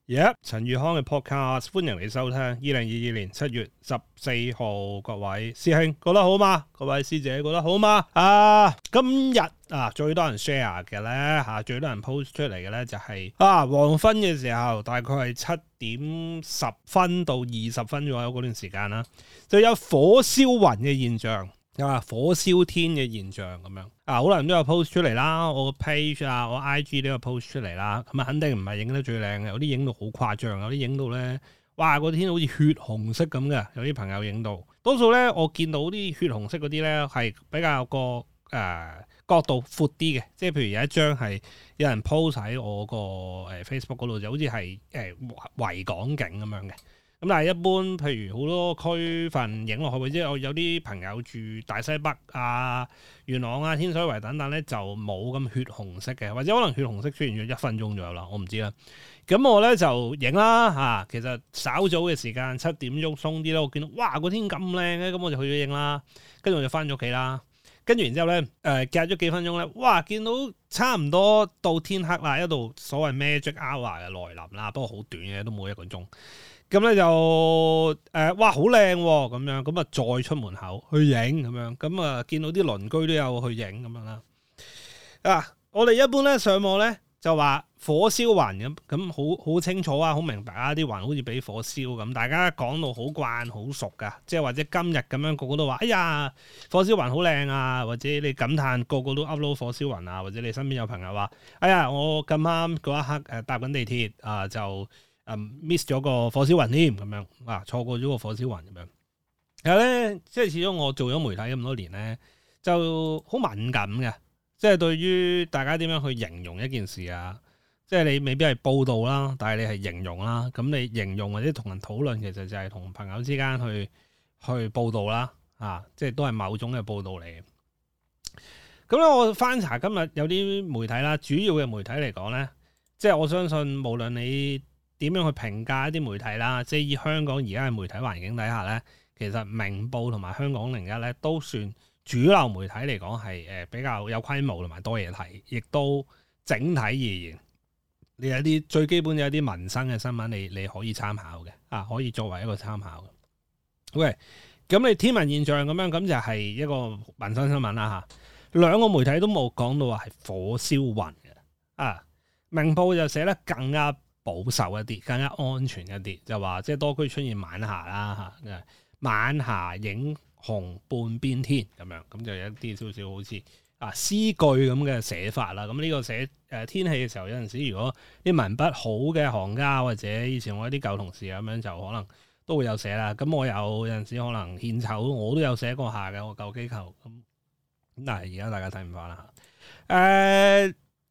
陳宇康嘅 podcast，歡迎你收聽。2022年7月14號，各位師兄覺得好嗎？各位師姐覺得好嗎？今日最多人 share 嘅咧最多人 post 出嚟嘅咧就係黃昏嘅時候，大概係7點10分到20分左右嗰段時間啦，就有火燒雲嘅現象。火燒天嘅現象咁樣好多人都有 post 出嚟啦，我個 page 我 IG 都有 post 出嚟啦。咁肯定唔係影得最靚嘅，有啲影到好誇張，有啲影到咧，哇個天好似血紅色咁嘅。有啲朋友影到，多數咧我見到啲血紅色嗰啲咧係比較個角度闊啲嘅，即係譬如有一張係有人 post 喺我個Facebook 嗰度，就好似係維港景咁樣嘅。咁但係一般，譬如好多區份影落去，或者我有啲朋友住大西北元朗天水圍等等咧，就冇咁血紅色嘅，或者可能血紅色出現咗1分鐘左右啦，我唔知啦。咁我咧就影啦其實稍早嘅時間7點鐘鬆啲啦，我見到哇個天咁靚嘅，咁我就去咗影啦，跟住我就翻咗屋企啦。跟住然之後咧隔咗幾分鐘咧，哇見到差唔多到天黑啦，一度所謂 magic hour 嘅來臨啦，不過好短嘅，都冇1個鐘。咁咧就哇好靚咁樣，咁再出門口去影咁樣，咁見到啲鄰居都有去影咁樣啦。我哋一般咧上網咧就話火燒雲咁好清楚好明白啲雲好似俾火燒咁，大家講到好慣好熟噶，即係或者今日咁樣個個都話哎呀火燒雲好靚或者你感嘆個個都 upload 火燒雲或者你身邊有朋友話哎呀我咁啱嗰一刻搭緊地鐵就miss 咗個火燒雲添咁樣錯過咗個火燒雲咁樣。其實咧，即係始終我做咗媒體咁多年咧，就好敏感嘅。即係對於大家點樣去形容一件事即係你未必係報導啦，但係你係形容啦。咁你形容或者同人討論，其實就係同朋友之間去報導啦。即係都係某種嘅報導嚟嘅。咁咧，我翻查今日有啲媒體啦，主要嘅媒體嚟講咧，即係我相信無論你點樣去評價一啲媒體啦，即係以香港而家嘅媒體環境底下咧，其實明報同埋香港01咧都算主流媒體嚟講係比較有規模同埋多嘢睇，亦都整體而言，你有啲最基本有啲民生嘅新聞你可以參考嘅可以作為一個參考嘅。OK， 咁你天文現象咁樣，咁就係一個民生新聞啦兩個媒體都冇講到話係火燒雲嘅明報就寫得更加保守一啲，更加安全一啲，就話即係多區出現晚霞啦晚霞映紅半邊天咁樣，咁就有一啲少少好似詩句咁嘅寫法啦。咁呢個寫天氣嘅時候，有陣時如果啲文筆好嘅行家或者以前我啲舊同事咁樣，就可能都會有寫啦。咁我有陣時可能獻醜，我都有寫過下嘅，我舊機構咁。但係而家大家睇唔翻啦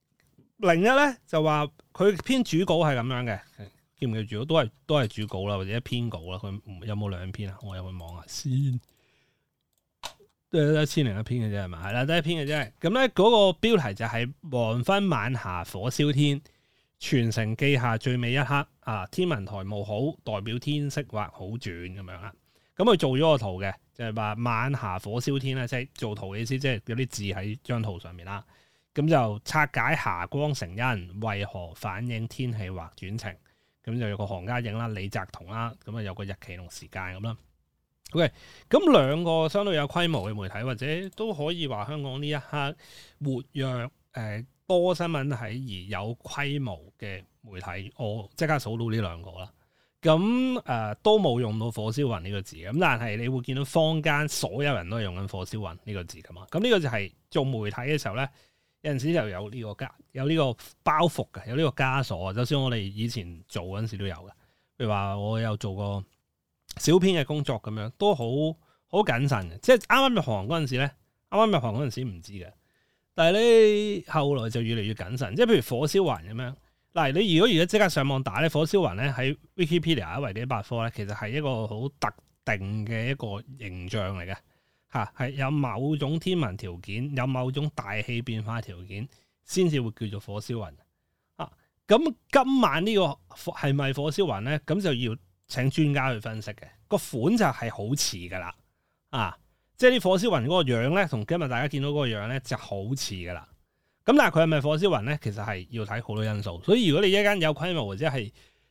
01咧就話佢篇主稿係咁樣嘅，記唔記住？都係主稿啦，或者一篇稿啦。佢有冇2篇我入去望下先。都係1001篇嘅啫，係嘛？係啦，得1篇嘅啫。咁咧嗰個標題就係黃昏晚霞火燒天，全城記下最美一刻天文台務好，代表天色或好轉咁樣啦。咁佢做咗個圖嘅，就係話晚霞火燒天啦，即係做圖嘅意思，即係有啲字喺張圖上面啦。咁就拆解霞光成因，為何反映天氣或轉晴？咁就有個行家影啦，李澤彤啦，咁有個日期同時間咁啦。OK， 咁兩個相對有規模嘅媒體，或者都可以話香港呢一刻活躍多新聞體而有規模嘅媒體，我即刻數到呢兩個啦。咁都冇用到火燒雲呢個字，咁但係你會見到坊間所有人都係用緊火燒雲呢個字噶嘛。咁呢個就係做媒體嘅時候咧。有陣時就有呢個包袱嘅，有呢個枷鎖。就算我哋以前做嗰陣時都有嘅，譬如話我有做過小編嘅工作咁樣，都好謹慎嘅。即係啱啱入行嗰陣時咧，唔知嘅，但係咧後來就越嚟越謹慎。即係譬如火燒雲咁樣，嗱你如果而家即刻上網打咧，火燒雲咧喺 Wikipedia 維基百科咧，其實係一個好特定嘅一個形象嚟嘅。係有某種天文條件，有某種大氣變化條件，先至會叫做火燒雲。咁今晚呢個係咪火燒雲咧？咁就要請專家去分析嘅。個款就係好似噶啦，即係啲火燒雲嗰個樣咧，同今日大家見到嗰個樣咧就好似噶啦。咁但係佢係咪火燒雲咧？其實係要睇好多因素。所以如果你一間有規模或者係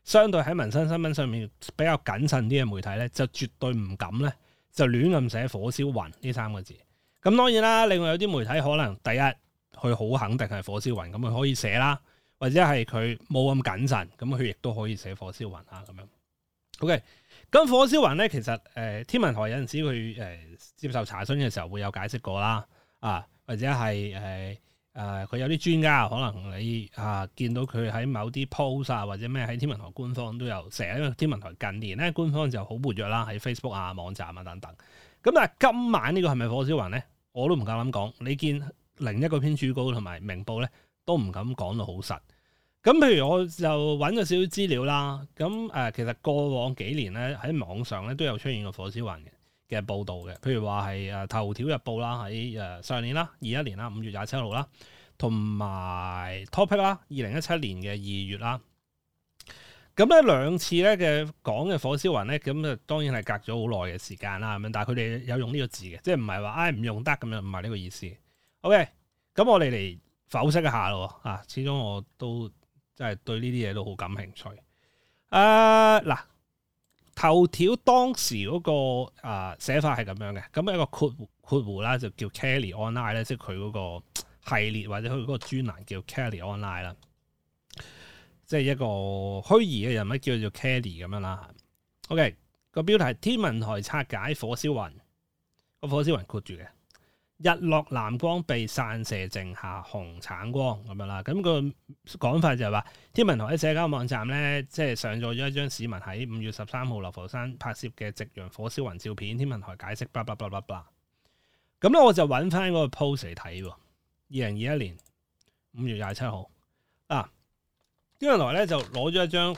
相對喺民生新聞上面比較謹慎啲嘅媒體咧，就絕對唔敢咧就亂咁寫火燒雲呢三個字。咁當然啦，另外有啲媒體可能第一佢好肯定係火燒雲，咁佢可以寫啦，或者係佢冇咁謹慎，咁佢亦都可以寫火燒雲啊咁樣。OK， 咁火燒雲咧，其實天文台有陣時佢接受查詢嘅時候會有解釋過啦，或者係佢有啲專家可能你見到佢喺某啲 post 或者咩喺天文台官方都有寫，因為天文台近年咧官方就好活躍啦，喺 Facebook 網站等等。咁但係今晚呢個係咪火燒雲咧？我都唔夠膽講。你見另一個編主稿同埋明報咧都唔敢講到好實。咁譬如我就揾咗少少資料啦。咁其實過往幾年咧喺網上咧都有出現過火燒雲嘅報導嘅。譬如話係頭條日報啦，喺上年啦21年啦5月27號啦，同埋 Topic 啦2017年嘅2月啦。咁咧兩次咧嘅講嘅火燒雲咧，咁啊當然係隔咗好耐嘅時間啦，咁樣，但係佢哋有用呢個字嘅，即係唔係話唔用得咁樣，唔係呢個意思。OK，咁我哋嚟剖析一下咯，始終我都真係對呢啲嘢都好感興趣。嗱，頭條當時嗰個寫法係咁樣嘅，咁一個括弧啦，就叫 Kelly Online 咧，即係佢嗰個系列或者佢嗰個專欄叫 Kelly Online 啦。即係一個虛擬嘅人物叫做 Kelly 咁樣啦。OK， 個標題係天文台拆解火燒雲，個火燒雲括住嘅日落藍光被散射剩下紅橙光咁樣啦。咁個講法就係話天文台喺社交網站咧，即係上載咗一張市民喺5月13號流浮山拍攝嘅夕陽火燒雲照片。天文台解釋，blah blah blah blah blah。咁咧我就揾翻嗰個 post 嚟睇喎。2021年5月27號天文台咧就攞咗一張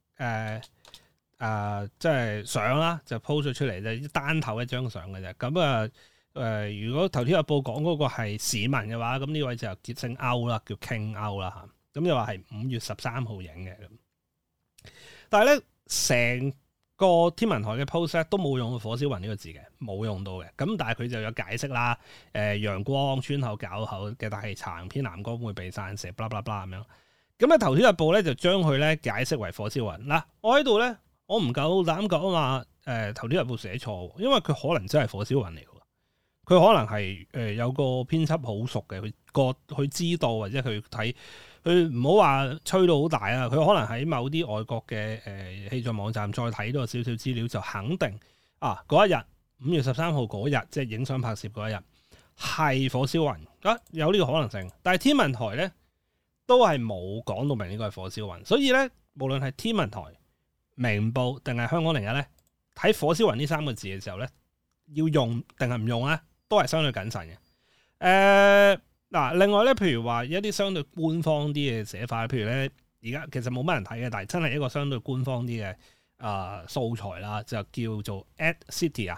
即係相啦，就 post 咗出嚟，就單頭一張相嘅啫。咁如果頭條日報講嗰個係市民嘅話，咁呢位就叫姓歐啦，叫 King 歐啦嚇。咁就話係5月13號影嘅咁。但係咧成個天文台嘅 post 都冇用火燒雲呢個字嘅，冇用到嘅。咁但係佢就有解釋啦，陽光穿透較厚嘅大氣層，偏藍光會被散射，blah blah blah 咁樣。咁咧頭條日報咧就將佢咧解釋為火燒雲。嗱，我喺度咧，我唔夠膽講話頭條日報寫錯，因為佢可能真係火燒雲嚟嘅。佢可能係有個編輯好熟嘅，佢知道或者佢睇，佢唔好話吹到好大啊。佢可能喺某啲外國嘅氣象網站再睇多少少資料，就肯定嗰一日5月13號嗰日，即係影相拍攝嗰一日係火燒雲有呢個可能性。但係天文台咧，都係冇講到明呢個係火燒雲，所以咧，無論係天文台、明報定係香港01咧，睇火燒雲呢三個字嘅時候咧，要用定係唔用咧，都係相對謹慎嘅。另外咧，譬如話一啲相對官方啲嘅寫法，譬如咧，而家其實冇乜人睇嘅，但係真係一個相對官方啲嘅素材啦，就叫做 EdCity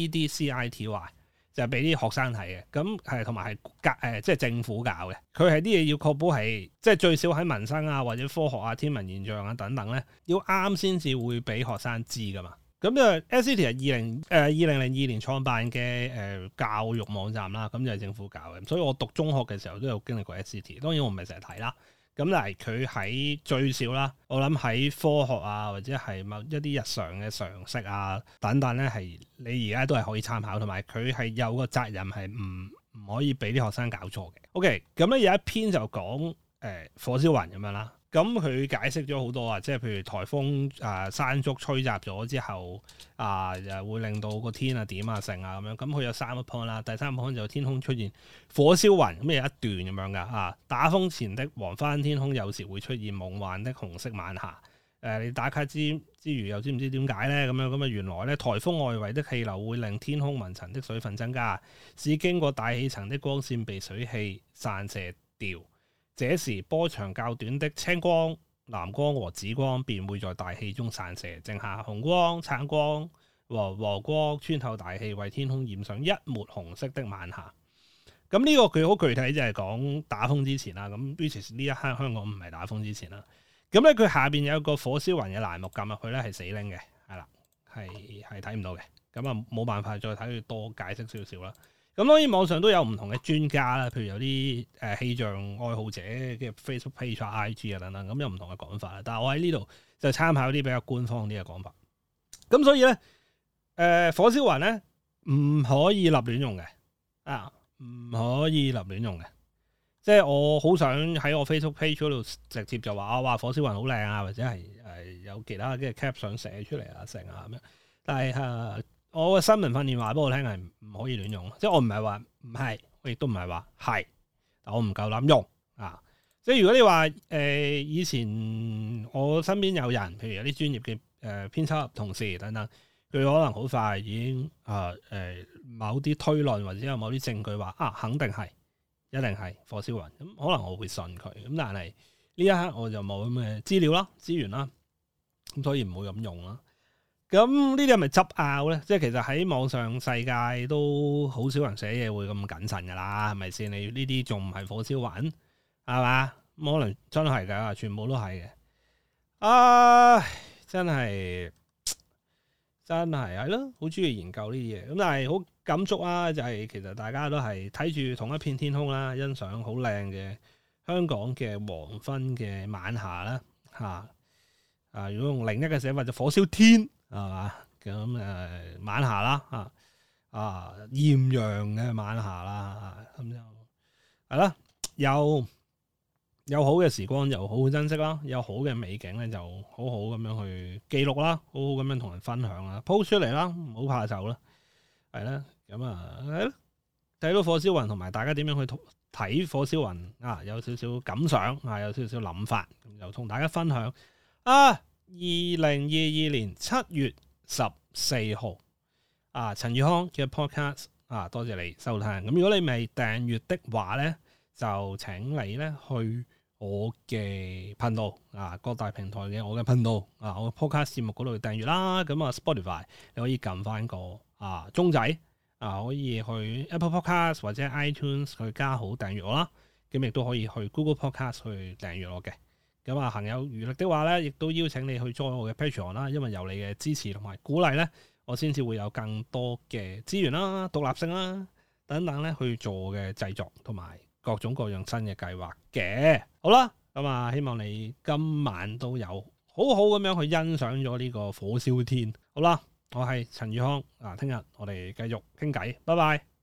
EDCITY。就係俾啲學生睇嘅，咁係同埋係即係政府搞嘅。佢係啲嘢要確保係即係最少喺民生或者科學天文現象等等咧，要啱先至會俾學生知噶嘛。咁EdCity 係2002年創辦嘅教育網站啦，咁就係政府搞嘅。所以我讀中學嘅時候都有經歷過 EdCity，當然我唔係成日睇啦。咁但係佢喺最少啦，我諗喺科學或者係某一啲日常嘅常識等等咧，係你而家都係可以參考，同埋佢係有個責任係唔可以俾啲學生搞錯嘅。OK， 咁咧有一篇就講火燒雲咁樣啦。咁佢解釋咗好多即係譬如颱風山竹吹襲咗之後又會令到個天點成咁樣。咁佢有3個 point 啦，第3個 point 就天空出現火燒雲，咁有一段咁樣噶打風前的黃昏天空有時會出現夢幻的紅色晚霞。你打卡之餘又知唔知點解咧？咁原來咧颱風外圍的氣流會令天空雲層的水分增加，使經過大氣層的光線被水汽散射掉。這時波長較短的青光、藍光和紫光便會在大氣中散射，剩下紅光、橙光和黃光穿透大氣，為天空染上一抹紅色的晚霞。咁呢個佢好具體，就係講打風之前啦。咁呢一刻香港唔係打風之前啦。咁咧佢下邊有個火燒雲嘅欄目，撳入去咧係死拎嘅，係啦，係睇唔到嘅。咁冇辦法再睇佢多解釋少少啦。 咁當然網上都有唔同嘅專家啦，譬如有啲氣象愛好者嘅 Facebook page 啊、IG 啊等等，咁有唔同嘅講法啦。但係我喺呢度就參考啲比較官方啲嘅講法。咁所以咧，火燒雲咧唔可以立亂用嘅，唔可以立亂用嘅。即係我好想喺我 Facebook page 嗰度直接就話火燒雲好靚啊，或者係有其他嘅 cap 想寫出嚟啊成啊咁樣。但係我嘅新聞訓練話俾我聽係唔可以亂用，即係我唔係話唔係，我亦都唔係話係，但我唔夠膽用啊！即係如果你話以前我身邊有人，譬如有啲專業嘅編輯同事等等，佢可能好快已經某啲推論或者有某啲證據話肯定係。一定係火燒雲，咁可能我會信佢，咁但係呢一刻我就冇咁嘅資料啦、資源啦，咁所以唔會咁用啦。咁呢啲係咪執拗咧？即係其實喺網上世界都好少人寫嘢會咁謹慎噶啦，係咪先？你呢啲仲唔係火燒雲係嘛？可能真係噶，全部都係嘅。真係係咯，好中意研究呢啲嘢，咁但係好感觸啊！就係其實大家都係睇住同一片天空啦，欣賞好靚嘅香港嘅黃昏嘅晚霞啦，如果用另一個寫法就火燒天係嘛？咁晚霞啦，豔陽嘅晚霞啦，咁就係啦，有好嘅時光就好好珍惜啦，有好嘅美景咧就好好咁樣去記錄啦，好好咁樣同人分享啦 ，post 出嚟啦，唔好怕醜啦，係啦。咁睇到火燒雲同埋大家點樣去睇火燒雲有少少感想有少少諗法，咁就同大家分享。2022年7月14號陳宇康嘅 podcast 多謝你收聽。咁如果你未訂閱的話咧，就請你咧去我嘅頻道各大平台嘅我嘅頻道我嘅 podcast 節目嗰度訂閱啦。咁Spotify 你可以撳翻個鐘仔。可以去 Apple Podcast 或者 iTunes 去加好訂閱我啦，咁亦都可以去 Google Podcast 去訂閱我嘅。咁行有餘力的話咧，亦都邀請你去 join 我嘅 Patreon 啦，因為有你嘅支持同埋鼓勵咧，我先至會有更多嘅資源啦、獨立性啦等等咧去做嘅製作同埋各種各樣新嘅計劃嘅。好啦，咁希望你今晚都有好好咁樣去欣賞咗呢個火燒天。好啦。我係陳宇康，聽日我哋繼續傾偈，拜拜。